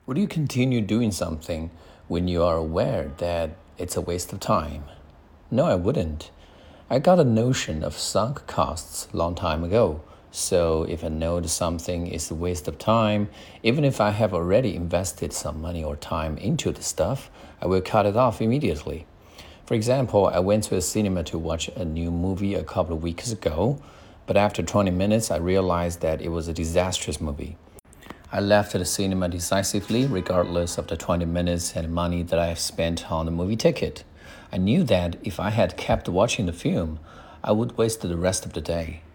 Would you continue doing something when you are aware that it's a waste of time? No, I wouldn't. I got a notion of sunk costs a long time ago. So if I know that something is a waste of time, even if I have already invested some money or time into the stuff, I will cut it off immediately. For example, I went to a cinema to watch a new movie a couple of weeks ago, but after 20 minutes, I realized that it was a disastrous movie. I left the cinema decisively, regardless of the 20 minutes and money that I have spent on the movie ticket. I knew that if I had kept watching the film, I would waste the rest of the day.